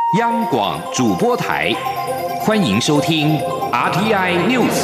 央广主播台，欢迎收听 RTI News。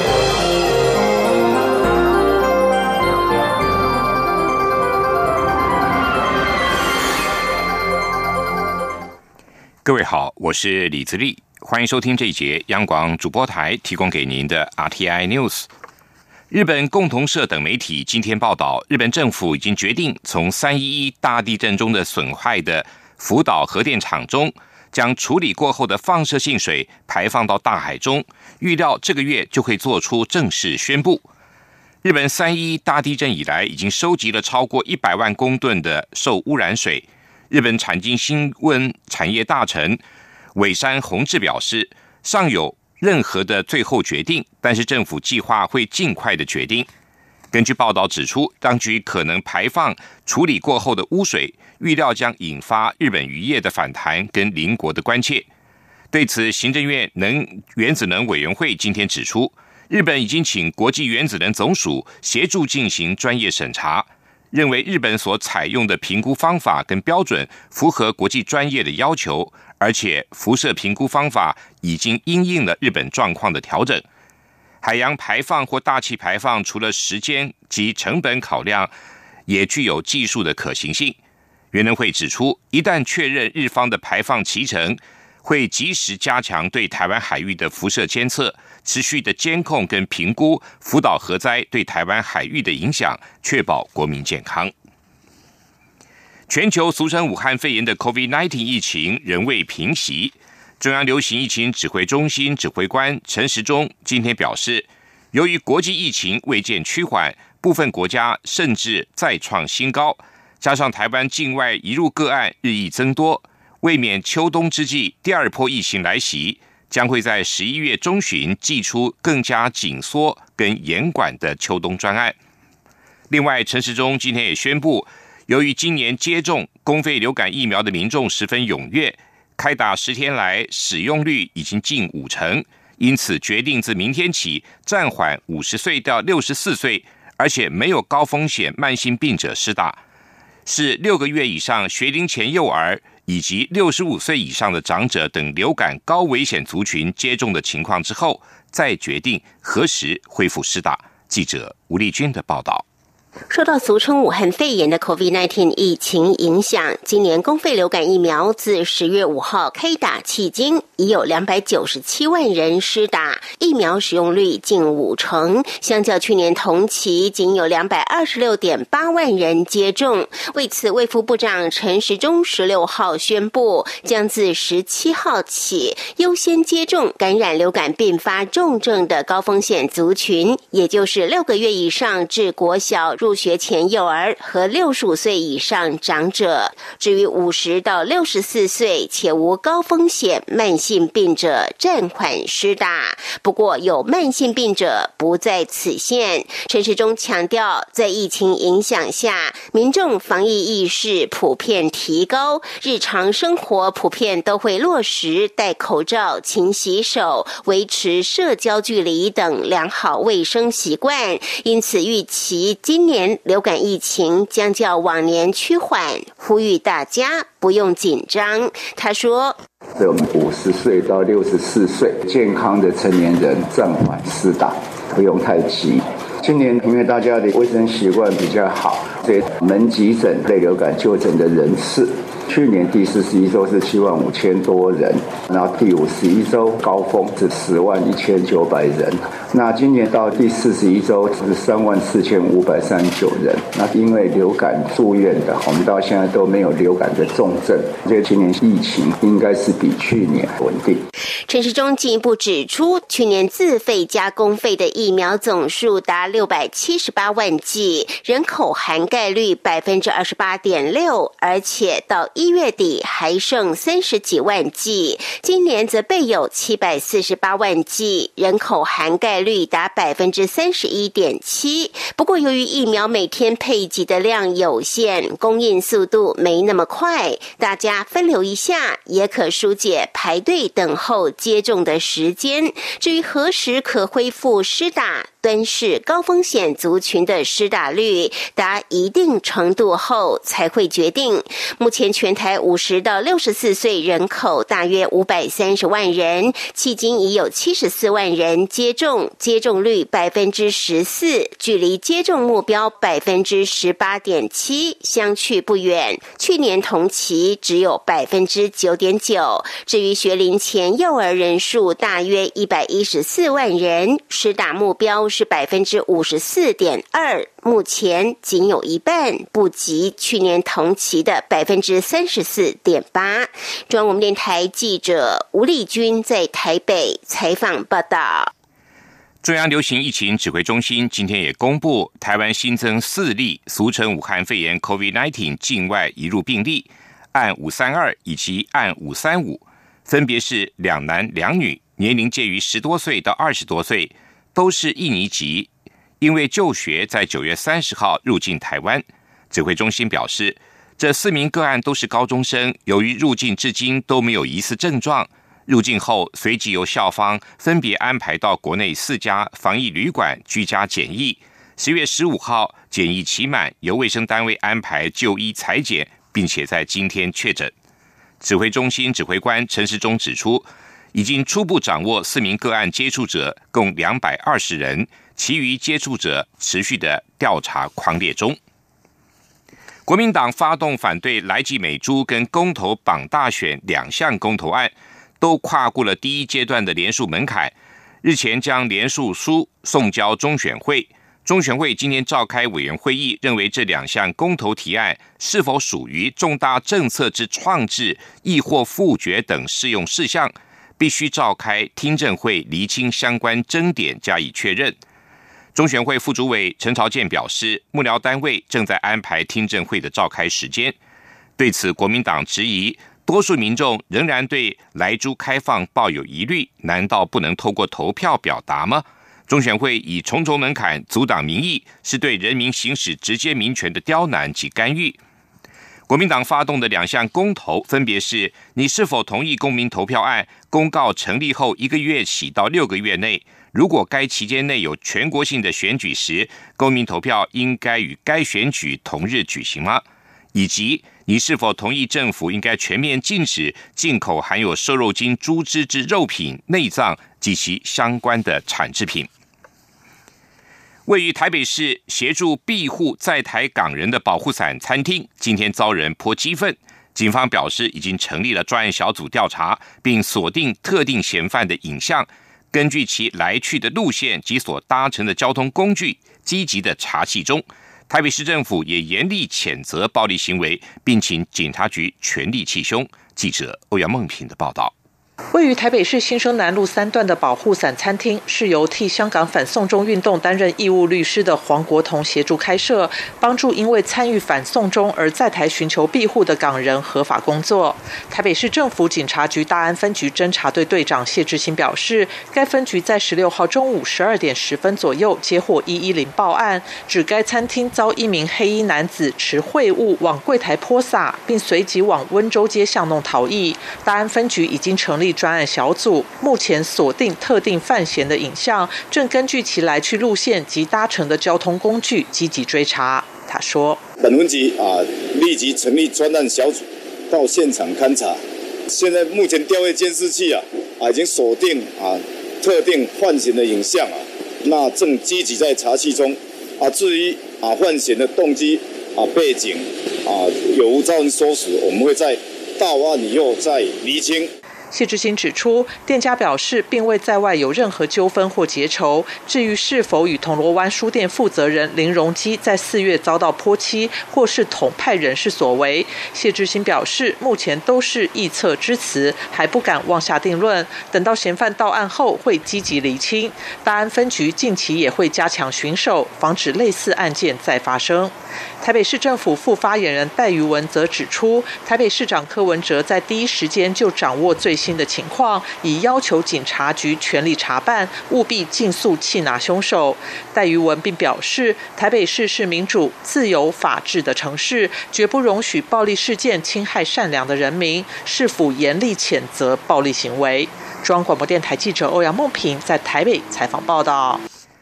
各位好，我是李自立，欢迎收听这一节央广主播台提供给您的 RTI News。日本共同社等媒体今天报道，日本政府已经决定从311大地震中的损坏的福岛核电厂中，将处理过后的放射性水排放到大海中，预料这个月就会做出正式宣布。日本311大地震以来，已经收集了超过100万公吨的受污染水。日本产经新闻产业大臣尾山弘志表示，尚有任何的最后决定，但是政府计划会尽快的决定。根据报道指出，当局可能排放处理过后的污水，预料将引发日本渔业的反弹跟邻国的关切。对此，行政院原子能委员会今天指出，日本已经请国际原子能总署协助进行专业审查，认为日本所采用的评估方法跟标准符合国际专业的要求，而且辐射评估方法已经因应了日本状况的调整。海洋排放或大气排放除了时间及成本考量，也具有技术的可行性。原能会指出，一旦确认日方的排放期程，会及时加强对台湾海域的辐射监测，持续的监控跟评估福岛核灾对台湾海域的影响，确保国民健康。全球俗称武汉肺炎的 COVID-19 疫情仍未平息。中央流行疫情指挥中心指挥官陈时中今天表示，由于国际疫情未见趋缓，部分国家甚至再创新高，加上台湾境外移入个案日益增多，未免秋冬之际第二波疫情来袭，将会在11月中旬祭出更加紧缩跟严管的秋冬专案。另外，陈时中今天也宣布，由于今年接种公费流感疫苗的民众十分踊跃，开打10天来使用率已经近50%，因此决定自明天起暂缓50岁到64岁，而且没有高风险慢性病者施打，是6个月以上学龄前幼儿以及65岁以上的长者等流感高危险族群接种的情况之后，再决定何时恢复施打。记者吴丽君的报道。 受到俗称武汉肺炎的 COVID-19 疫情影响，今年公费流感疫苗自10月5号开打迄今，已有297万人施打，疫苗使用率近50%，相较去年同期仅有226.8万人接种。为此，卫福部长陈时中16号宣布，将自17号起优先接种感染流感并发重症的高风险族群，也就是6个月以上至国小入学前幼儿和65岁以上长者。至于50到64岁且无高风险慢性病者，暂缓施打。不过有慢性病者不在此限。陈时中强调，在疫情影响下，民众防疫意识普遍提高，日常生活普遍都会落实戴口罩、勤洗手、维持社交距离等良好卫生习惯，因此预期今年流感疫情将较往年趋缓，呼吁大家不用紧张。他说， 对我们50岁到64岁健康的成年人暂缓施打，不用太急。今年因为大家的卫生习惯比较好，所以门急诊类流感就诊的人次，去年第41周是75000多人，然后第51周高峰是101900人，那今年到第41周是34539人。那因为流感住院的，我们到现在都没有流感的重症，所以今年疫情应该是比去年稳定。 陈时中进一步指出，去年自费加公费的疫苗总数达678万剂，人口涵盖率28.6%，而且到1月底还剩30几万剂。今年则备有748万剂，人口涵盖率达31.7%。不过由于疫苗每天配给的量有限，供应速度没那么快，大家分流一下也可疏解排队等候接种的时间。至于何时可恢复施打， 敦市高风险族群的施打率达一定程度后才会决定。目前全台50到64岁人口大约530万人，迄今已有74万人接种，接种率14%，距离接种目标18.7%相去不远。去年同期只有9.9%。至于学龄前幼儿人数大约114万人，施打目标是54.2%，目前仅有一半，不及去年同期的34.8%。中央广播电台记者吴丽君在台北采访报道。 中央流行疫情指挥中心今天也公布，台湾新增4例俗称武汉肺炎 COVID-19 境外移入病例，案532以及案535，分别是2男2女，年龄介于10多岁到20多岁，都是印尼籍，因为就学在9月30号入境台湾。指挥中心表示，这4名个案都是高中生，由于入境至今都没有疑似症状，入境后随即由校方分别安排到国内4家防疫旅馆居家检疫，10月15号检疫期满，由卫生单位安排就医采检，并且在今天确诊。指挥中心指挥官陈时中指出，已经初步掌握4名个案接触者共220人，其余接触者持续的调查匡列中。国民党发动反对莱济美猪跟公投绑大选2项公投案，都跨过了第1阶段的联署门槛，日前将联署书送交中选会。中选会今天召开委员会议，认为这2项公投提案是否属于重大政策之创制，亦或复决等适用事项，必须召开听证会厘清相关争点，加以确认。中选会副主委陈朝健表示，幕僚单位正在安排听证会的召开时间。对此，国民党质疑，多数民众仍然对莱猪开放抱有疑虑，难道不能透过投票表达吗？中选会以重重门槛阻挡民意，是对人民行使直接民权的刁难及干预。国民党发动的2项公投，分别是你是否同意公民投票案公告成立后1个月起到6个月内，如果该期间内有全国性的选举时，公民投票应该与该选举同日举行吗？以及你是否同意政府应该全面禁止进口含有瘦肉精猪脂之肉品、内脏及其相关的产制品？位于台北市协助庇护在台港人的保护伞餐厅，今天遭人泼鸡粪。警方表示，已经成立了专案小组调查，并锁定特定嫌犯的影像，根据其来去的路线及所搭乘的交通工具，积极的查缉中。台北市政府也严厉谴责暴力行为，并请警察局全力缉凶。记者欧阳梦平的报道。 位于台北市新生南路3段的保护伞餐厅，是由替香港反送中运动担任义务律师的黄国同协助开设，帮助因为参与反送中而在台寻求庇护的港人合法工作。台北市政府警察局大安分局侦查队队长谢志新表示，该分局在16号中午12点10分左右接获110报案，指该餐厅遭一名黑衣男子持秽物往柜台泼洒，并随即往温州街巷弄逃逸。大安分局已经成立专案小组，目前锁定特定犯嫌的影像，正根据其来去路线及搭乘的交通工具积极追查。他说， 本分局立即成立专案小组到现场勘查，现在目前调阅监视器已经锁定特定犯嫌的影像那正积极在查缉中至于犯嫌的动机背景有无遭人唆使，我们会在到案以后再厘清。 谢志新指出，店家表示并未在外有任何纠纷或结仇。至于是否与铜锣湾书店负责人林荣基在4月遭到泼漆，或是统派人士所为，谢志新表示，目前都是臆测之词，还不敢妄下定论。等到嫌犯到案后，会积极厘清。大安分局近期也会加强巡守，防止类似案件再发生。台北市政府副发言人戴瑜文则指出，台北市长柯文哲在第一时间就掌握最新的情况，已要求警察局全力查办，务必尽速缉拿凶手。戴瑜文并表示，台北市是民主、自由、法治的城市，绝不容许暴力事件侵害善良的人民，市府严厉谴责暴力行为。中央广播电台记者欧阳梦平在台北采访报道。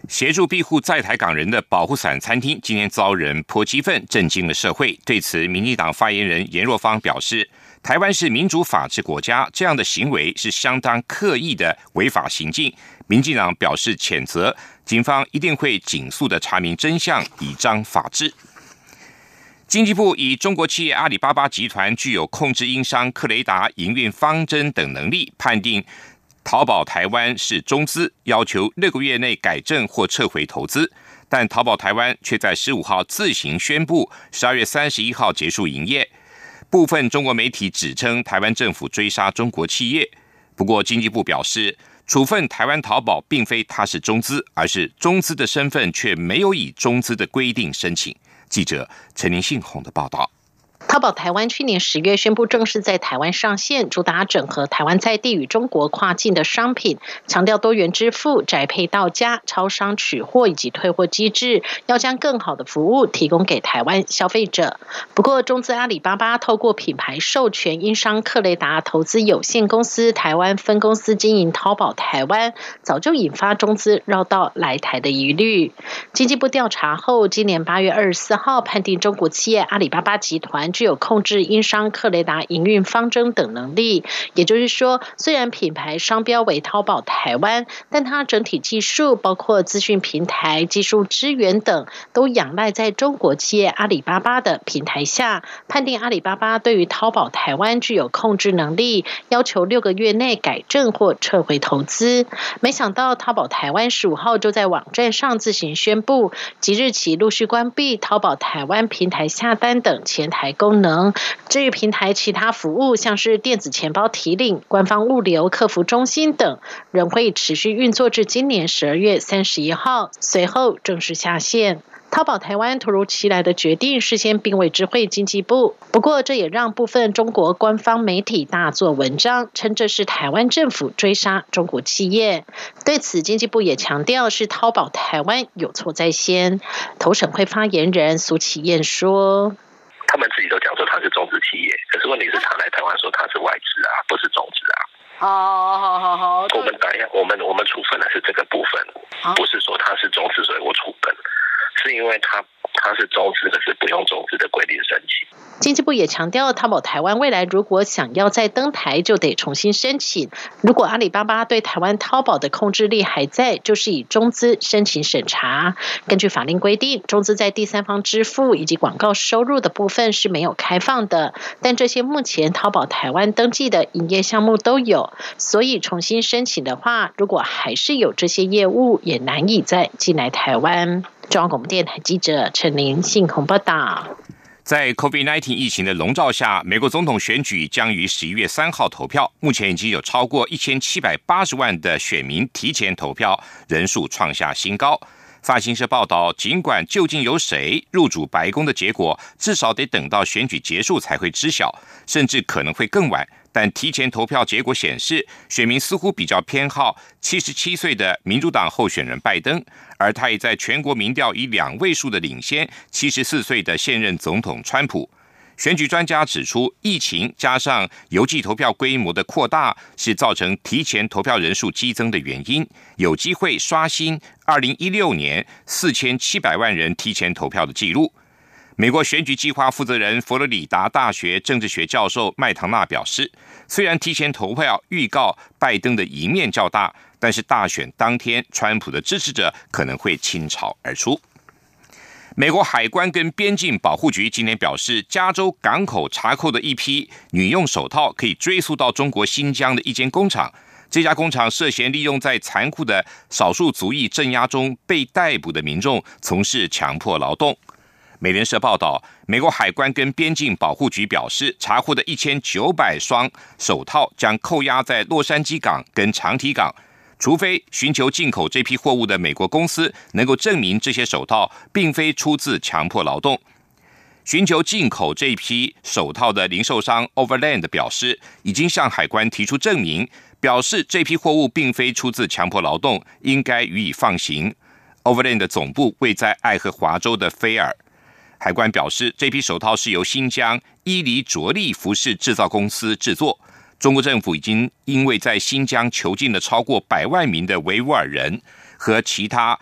协助庇护在台港人的保护伞餐厅今天遭人泼鸡粪，震惊了社会。对此，民进党发言人颜若芳表示，台湾是民主法治国家，这样的行为是相当刻意的违法行径。民进党表示谴责，警方一定会尽速的查明真相，以彰法治。经济部以中国企业阿里巴巴集团具有控制英商克雷达营运方针等能力，判定淘宝台湾是中资，要求6个月内改正或撤回投资，但淘宝台湾却在15号自行宣布12月31号结束营业。部分中国媒体指称台湾政府追杀中国企业，不过经济部表示，处分台湾淘宝并非它是中资，而是中资的身份却没有以中资的规定申请。记者陈林信宏的报道。 淘宝台湾去年10月宣布正式在台湾上线，主打整合台湾在地与中国跨境的商品，强调多元支付、宅配到家、超商取货以及退货机制，要将更好的服务提供给台湾消费者。不过，中资阿里巴巴透过品牌授权英商克雷达投资有限公司台湾分公司经营淘宝台湾，早就引发中资绕道来台的疑虑。经济部调查后，今年8月24号判定中国企业阿里巴巴集团具有控制英商克雷达营运方针等能力，也就是说，虽然品牌商标为淘宝台湾，但它整体技术包括资讯平台、技术支援等，都仰赖在中国企业阿里巴巴的平台下，判定阿里巴巴对于淘宝台湾具有控制能力，要求6个月内改正或撤回投资。没想到淘宝台湾15号就在网站上自行宣布，即日起陆续关闭淘宝台湾平台下单等前台功能。至于平台其他服务，像是电子钱包提领、官方物流客服中心等，仍会持续运作至今年12月31号，随后正式下线。淘宝台湾突如其来的决定，事先并未知会经济部，不过这也让部分中国官方媒体大做文章，称这是台湾政府追杀中国企业。对此，经济部也强调是淘宝台湾有错在先。投审会发言人苏启燕说， 他们自己都讲说他是中资企业，可是问题是他来台湾说他是外资啊，不是中资啊。好，我们处分的是这个部分，不是说他是中资所以我处分，是因为他是中资，可是不用中资的规定申请。 经济部也强调，淘宝台湾未来如果想要再登台，就得重新申请。如果阿里巴巴对台湾淘宝的控制力还在，就是以中资申请审查。根据法令规定，中资在第三方支付以及广告收入的部分是没有开放的，但这些目前淘宝台湾登记的营业项目都有，所以重新申请的话，如果还是有这些业务，也难以再进来台湾。中央广播电台记者陈林信宏报道。 在 COVID-19 疫情的笼罩下，美国总统选举将于11月3号投票。目前已经有超过1780万的选民提前投票，人数创下新高。法新社报道，尽管究竟由谁入主白宫的结果，至少得等到选举结束才会知晓，甚至可能会更晚。但提前投票结果显示，选民似乎比较偏好77岁的民主党候选人拜登，而他也在全国民调以2位数的领先74岁的现任总统川普。选举专家指出，疫情加上邮寄投票规模的扩大，是造成提前投票人数激增的原因，有机会刷新2016年4700万人提前投票的记录。美国选举计划负责人佛罗里达大学政治学教授麦唐纳表示，虽然提前投票预告拜登的赢面较大，但是大选当天川普的支持者可能会倾巢而出。美国海关跟边境保护局今天表示，加州港口查扣的一批女用手套可以追溯到中国新疆的一间工厂，这家工厂涉嫌利用在残酷的少数族裔镇压中被逮捕的民众从事强迫劳动。美联社报道，美国海关跟边境保护局表示，查获的1900双手套将扣押在洛杉矶港跟长堤港，除非寻求进口这批货物的美国公司能够证明这些手套并非出自强迫劳动。寻求进口这批手套的零售商 Overland 表示，已经向海关提出证明，表示这批货物并非出自强迫劳动，应该予以放行。Overland 的总部位在爱荷华州的菲尔。海关表示，这批手套是由新疆伊犁着力服饰制造公司制作。中国政府已经因为在新疆囚禁了超过100万名的维吾尔人和其他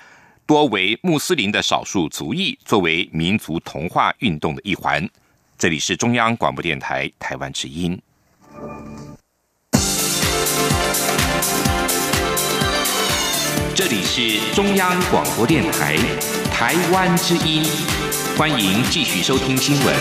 多为穆斯林的少数族裔，作为民族同化运动的一环。这里是中央广播电台台湾之音。这里是中央广播电台台湾之音，欢迎继续收听新闻。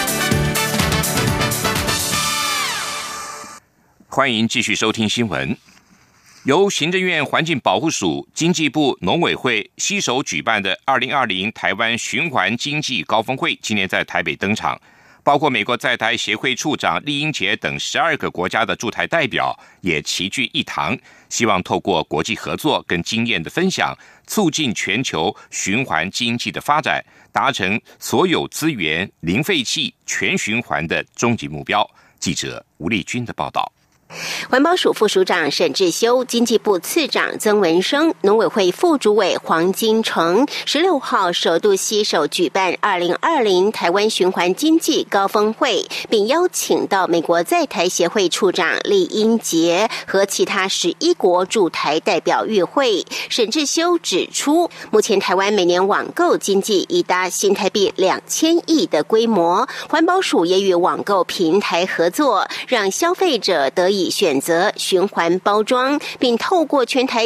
欢迎继续收听新闻。由行政院环境保护署、经济部农委会携手举办的2020台湾循环经济高峰会，今年在台北登场。包括美国在台协会处长酈英杰等12个国家的驻台代表也齐聚一堂，希望透过国际合作跟经验的分享，促进全球循环经济的发展，达成所有资源零废弃全循环的终极目标。记者吴丽君的报道。 环保署副署长沈志修、经济部次长曾文生、农委会副主委黄金城16号首度携手举办2020台湾循环经济高峰会，并邀请到美国在台协会处长酈英杰和其他11国驻台代表与会。沈志修指出，目前台湾每年网购经济已达新台币2000亿的规模，环保署也与网购平台合作，让消费者得以选择循环包装，并透过全台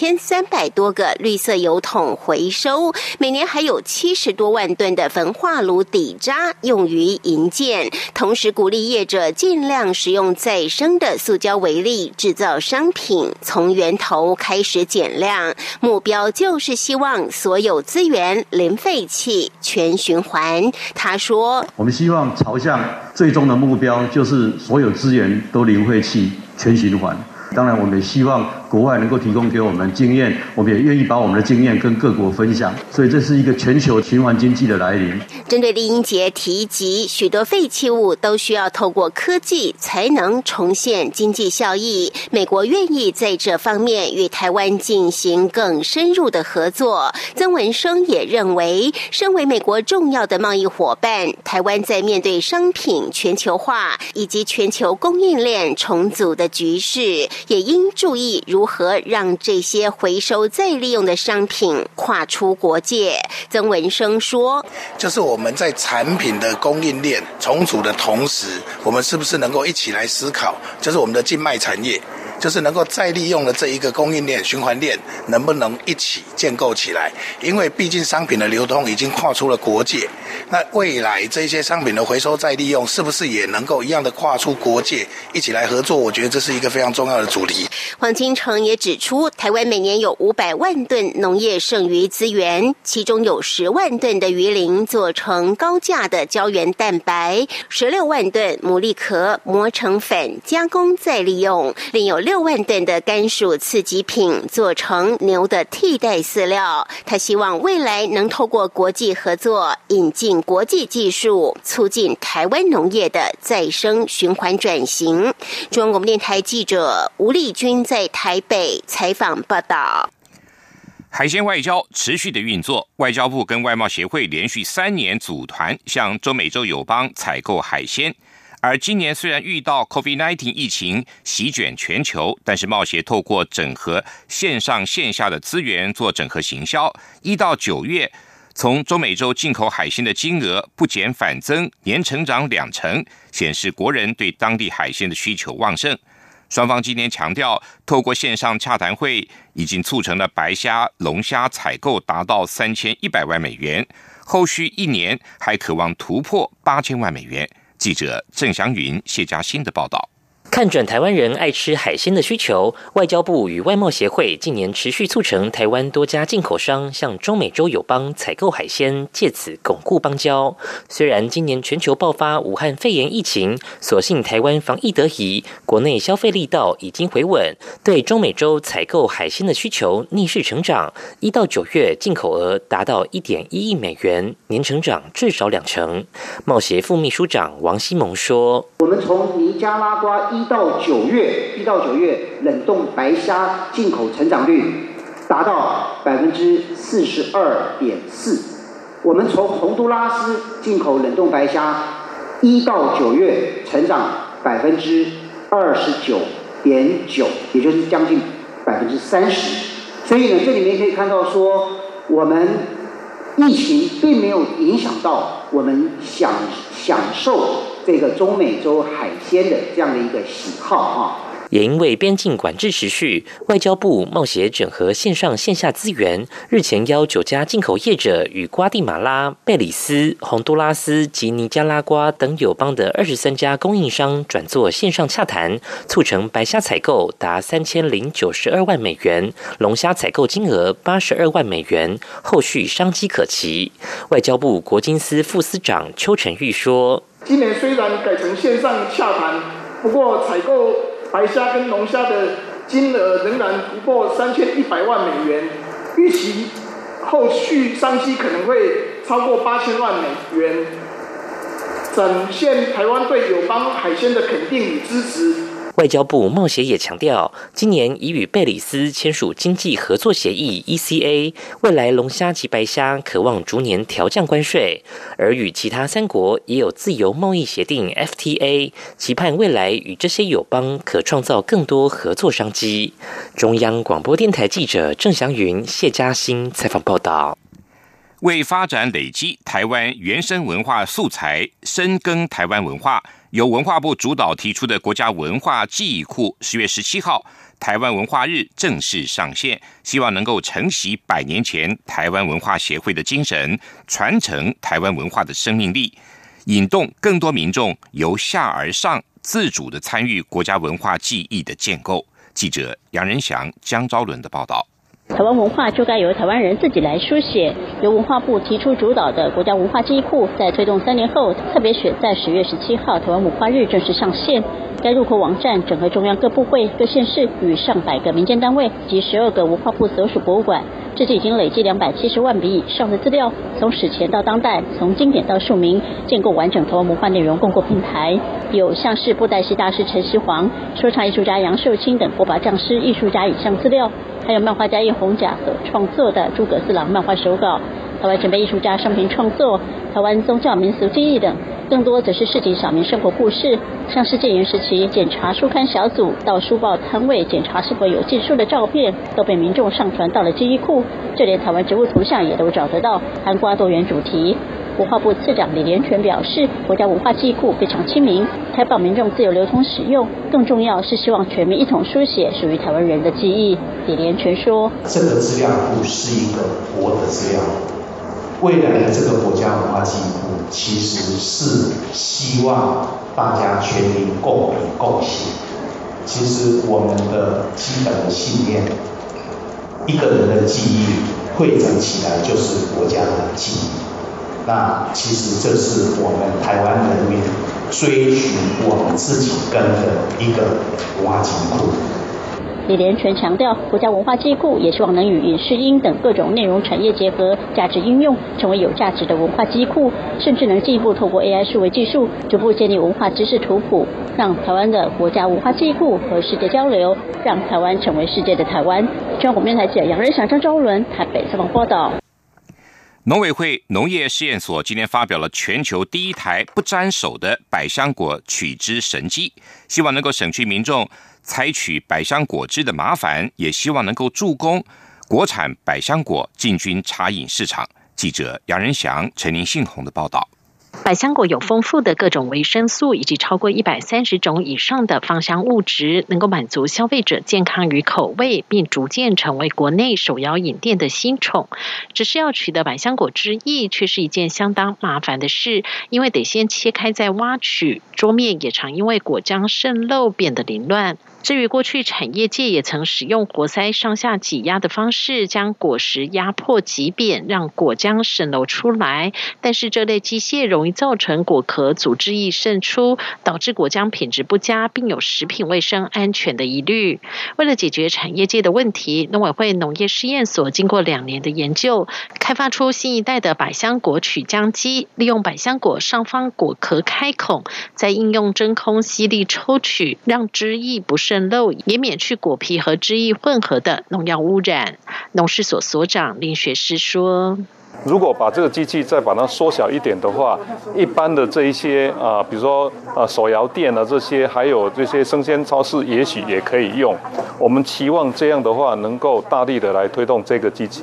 9300多个绿色油桶回收，每年还有70多万吨的焚化炉底渣用于营建，同时鼓励业者尽量使用再生的塑胶为例制造商品，从源头开始减量，目标就是希望所有资源零废弃全循环。他说， 我们希望朝向最终的目标就是所有资源都零废弃全循环。当然我们也希望国外能够提供给我们经验，我们也愿意把我们的经验跟各国分享，所以这是一个全球循环经济的来临。 针对酈英杰提及许多废弃物都需要透过科技才能重现经济效益，美国愿意在这方面与台湾进行更深入的合作。曾文生也认为，身为美国重要的贸易伙伴，台湾在面对商品全球化以及全球供应链重组的局势，也应注意如何让这些回收再利用的商品跨出国界。曾文生说， 就是我们在产品的供应链重组的同时，我们是不是能够一起来思考，就是我们的静脉产业，就是能够再利用的这一个供应链循环链能不能一起建构起来，因为毕竟商品的流通已经跨出了国界，那未来这些商品的回收再利用是不是也能够一样的跨出国界一起来合作，我觉得这是一个非常重要的主题。 黄金城也指出，台湾每年有500万吨农业剩余资源，其中有10万吨的鱼鳞做成高价的胶原蛋白，16万吨牡蛎壳磨成粉加工再利用，另有6万吨的甘薯次级品做成牛的替代饲料。他希望未来能透过国际合作，引进国际技术，促进台湾农业的再生循环转型。中央广播电台记者吴丽君在台北采访报道。 海鲜外交持续的运作，外交部跟外贸协会连续3年组团向中美洲友邦采购海鲜。而今年虽然遇到 COVID-19 疫情席卷全球，但是贸协透过整合线上线下的资源做整合行销，1到9月从中美洲进口海鲜的金额不减反增，年成长2成，显示国人对当地海鲜的需求旺盛。双方今天强调，透过线上洽谈会，已经促成了白虾、龙虾采购达到3100万美元，后续1年还渴望突破8000万美元。记者郑祥云、谢嘉欣的报道。 看准台湾人爱吃海鲜的需求，外交部与外贸协会近年持续促成台湾多家进口商向中美洲友邦采购海鲜，借此巩固邦交。虽然今年全球爆发武汉肺炎疫情，所幸台湾防疫得宜，国内消费力道已经回稳，对中美洲采购海鲜的需求逆势成长。1到9月进口额达到1.1亿美元，年成长至少2成。贸协副秘书长王希蒙说：“ 我们从尼加拉瓜1到9月冷冻白虾进口成长率达到42.4%。我们从洪都拉斯进口冷冻白虾1到9月成长29.9%，也就是将近30%。所以呢，这里面可以看到说， 我们疫情并没有影响到我们享受这个中美洲海鲜的这样的一个喜好哈。 也因为边境管制持续，外交部贸协整合线上线下资源，日前邀9家进口业者与瓜地马拉、贝里斯、洪都拉斯及尼加拉瓜等友邦的23家供应商转做线上洽谈，促成白虾采购达3092万美元，龙虾采购金额82万美元，后续商机可期。外交部国经司副司长邱成玉说：“ 今年虽然改成线上洽谈，不过采购白虾跟龙虾的金额仍然不过3100万美元，预期后续商机可能会超过8000万美元，展现台湾对友邦海鲜的肯定与支持。” 外交部贸协也强调，今年已与贝里斯签署经济合作协议 ECA， 未来龙虾及白虾可望逐年调降关税，而与其他3国也有自由贸易协定 FTA， 期盼未来与这些友邦可创造更多合作商机。中央广播电台记者郑祥云、谢嘉欣采访报道。 为发展累积台湾原生文化素材，深耕台湾文化，由文化部主导提出的国家文化记忆库10月17号台湾文化日正式上线，希望能够承袭100年前台湾文化协会的精神，传承台湾文化的生命力，引动更多民众由下而上自主的参与国家文化记忆的建构。记者杨仁祥、江昭伦的报道。 台湾文化就该由台湾人自己来书写。由文化部提出主导的国家文化记忆库，在推动3年后，特别选在10月17号台湾文化日正式上线。该入口网站整合中央各部会、各县市与上百个民间单位及12个文化部所属博物馆，至今已经累计270万笔以上的资料，从史前到当代，从经典到庶民，建构完整台湾文化内容共构平台。有像是布袋戏大师陈锡煌、说唱艺术家杨秀清等火把匠师、艺术家影像资料，还有漫画家叶宏甲所创作的诸葛四郎漫画手稿，台湾前辈艺术家生平创作，台湾宗教民俗记忆等。更多则是市井小民生活故事，像是戒严时期检查书刊小组到书报摊位检查是否有禁书的照片，都被民众上传到了记忆库，就连台湾植物图像也都找得到，涵盖多元主题。文化部次长李连全表示，国家文化记忆库非常亲民，开放民众自由流通使用，更重要是希望全民一同书写属于台湾人的记忆。李连全说， 这个资料库是一个活的资料库，未来的这个国家文化记忆库其实是希望大家全民共笔共写。其实我们的基本的信念，一个人的记忆汇整起来就是国家的记忆。那其实这是我们台湾人民追寻我们自己根的一个文化记忆库。 李连全强调，国家文化记忆库也希望能与影视音等各种内容产业结合，价值应用，成为有价值的文化记忆库，甚至能进一步透过 AI 数位技术，逐步建立文化知识图谱，让台湾的国家文化记忆库和世界交流，让台湾成为世界的台湾。中央广播电台记者杨仁祥、张昭伦台北采访报道。 农委会农业试验所今天发表了全球第一台不沾手的百香果取汁神机，希望能够省去民众采取百香果汁的麻烦，也希望能够助攻国产百香果进军茶饮市场。记者杨仁祥、陈林信宏的报道。 百香果有丰富的各种维生素以及超过130种以上的芳香物质，能够满足消费者健康与口味，并逐渐成为国内手摇饮店的新宠。只是要取得百香果汁液却是一件相当麻烦的事，因为得先切开再挖取，桌面也常因为果浆渗漏变得凌乱。至于过去产业界也曾使用活塞上下挤压的方式将果实压迫挤扁，让果浆渗漏出来，但是这类机械容易造成果壳组织液渗出，导致果浆品质不佳，并有食品卫生安全的疑虑。为了解决产业界的问题，农委会农业试验所经过2年的研究，开发出新一代的百香果取浆机，利用百香果上方果壳开孔，再应用真空吸力抽取，让汁液不渗漏，也免去果皮和汁液混合的农药污染。农试所所长林学士说， 如果把这个机器再把它缩小一点的话，一般的这一些比如说手摇店啊这些，还有这些生鲜超市，也许也可以用。我们期望这样的话，能够大力的来推动这个机器，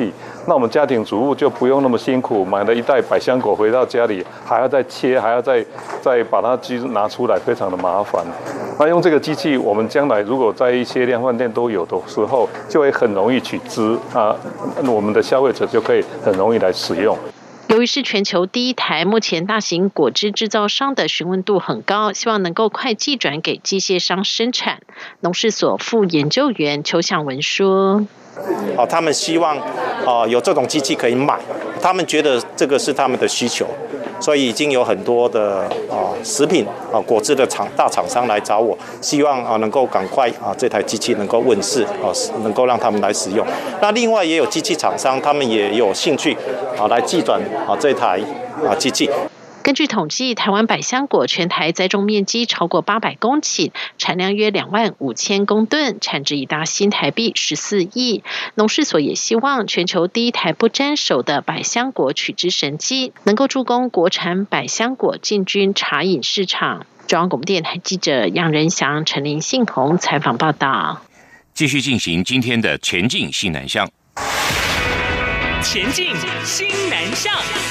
那我们家庭主妇就不用那么辛苦，买了一袋百香果回到家里还要再切，还要再把它拿出来，非常的麻烦。那用这个机器，我们将来如果在一些量贩店都有的时候，就会很容易取资啊，我们的消费者就可以很容易来使用。 由于是全球第一台，目前大型果汁制造商的询问度很高，希望能够快寄转给机械商生产。农事所副研究员邱向文说： 他们希望有这种机器可以买，他们觉得这个是他们的需求，所以已经有很多的食品果汁的大厂商来找我，希望能够赶快这台机器能够问世，能够让他们来使用。那另外也有机器厂商，他们也有兴趣来寄转这台机器。 根据统计，台湾百香果全台栽种面积超过800公顷，产量约25000公吨，产值已达新台币14亿。农事所也希望全球第一台不沾手的百香果取汁神机，能够助攻国产百香果进军茶饮市场。中央广播电台记者杨仁祥、陈林信宏采访报道。 继续进行今天的前进新南向。 前进新南向。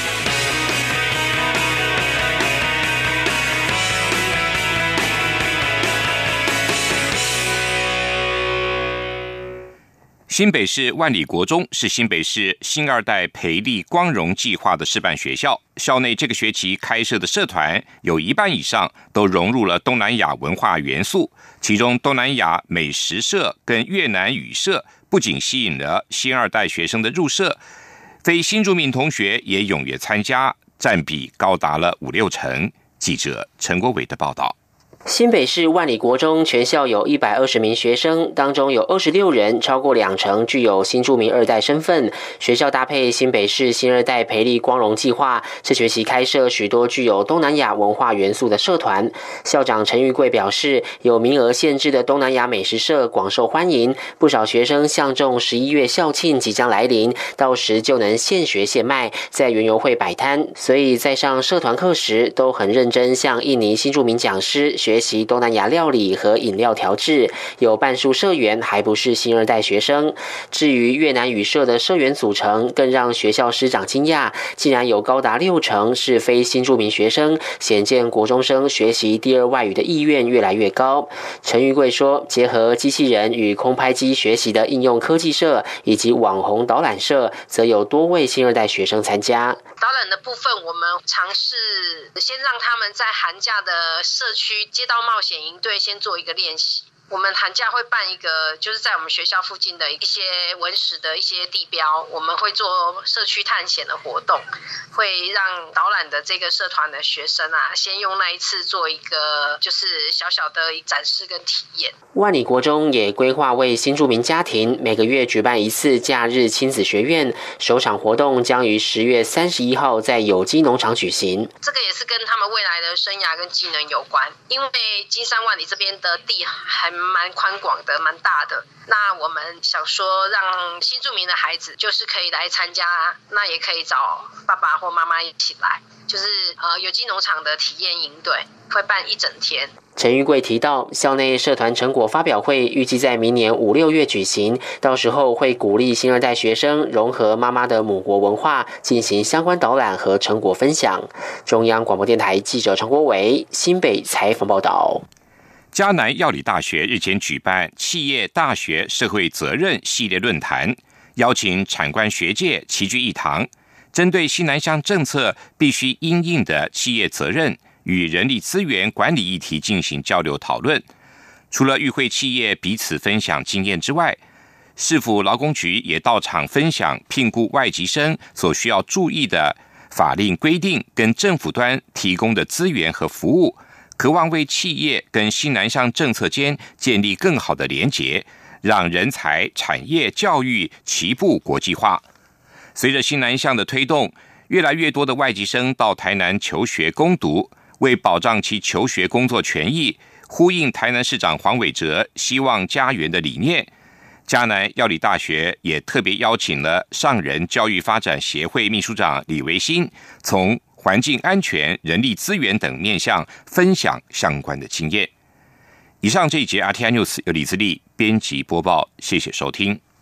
新北市万里国中是新北市新二代培力光荣计划的示范学校，校内这个学期开设的社团有一半以上都融入了东南亚文化元素，其中东南亚美食社跟越南语社不仅吸引了新二代学生的入社，非新住民同学也踊跃参加，占比高达了5-6成。记者陈国伟的报道。 新北市万里国中全校有120名学生，当中有26人，超过20%具有新住民二代身份。学校搭配新北市新二代培力光荣计划，这学期开设许多具有东南亚文化元素的社团。校长陈玉贵表示，有名额限制的东南亚美食社广受欢迎，不少学生相中11月校庆即将来临，到时就能现学现卖，在园游会摆摊，所以在上社团课时都很认真向印尼新住民讲师学习东南亚料理和饮料调制，有半数社员还不是新二代学生。至于越南语社的社员组成，更让学校师长惊讶，竟然有高达60%是非新住民学生，显见国中生学习第二外语的意愿越来越高。陈玉贵说，结合机器人与空拍机学习的应用科技社以及网红导览社，则有多位新二代学生参加。 导览的部分，我们尝试先让他们在寒假的社区街道冒险营队先做一个练习。我们寒假会办一个，就是在我们学校附近的一些文史的一些地标，我们会做社区探险的活动，会让导览的这个社团的学生先用那一次做一个就是小小的展示跟体验。 万里国中也规划为新住民家庭每个月举办一次假日亲子学院，首场活动将于10月31号在有机农场举行。 这个也是跟他们未来的生涯跟技能有关，因为金山万里这边的地还蛮宽广的，蛮大的。那我们想说，让新住民的孩子就是可以来参加，那也可以找爸爸或妈妈一起来，就是有机农场的体验营队，会办一整天。 陈玉贵提到，校内社团成果发表会预计在明年5、6月举行，到时候会鼓励新二代学生融合妈妈的母国文化，进行相关导览和成果分享。中央广播电台记者陈国伟新北采访报道。 嘉南药理大学日前举办企业大学社会责任系列论坛，邀请产官学界齐聚一堂，针对新南向政策必须因应的企业责任与人力资源管理议题进行交流讨论。除了与会企业彼此分享经验之外，市府劳工局也到场分享聘雇外籍生所需要注意的法令规定跟政府端提供的资源和服务，渴望为企业跟新南向政策间建立更好的连结，让人才、产业、教育齐步国际化。随着新南向的推动，越来越多的外籍生到台南求学攻读，为保障其求学工作权益，呼应台南市长黄伟哲希望家园的理念，嘉南药理大学也特别邀请了上人教育发展协会秘书长李维新，从环境安全、人力资源等面向分享相关的经验。以上这一节 RTI News 由李自力编辑播报，谢谢收听。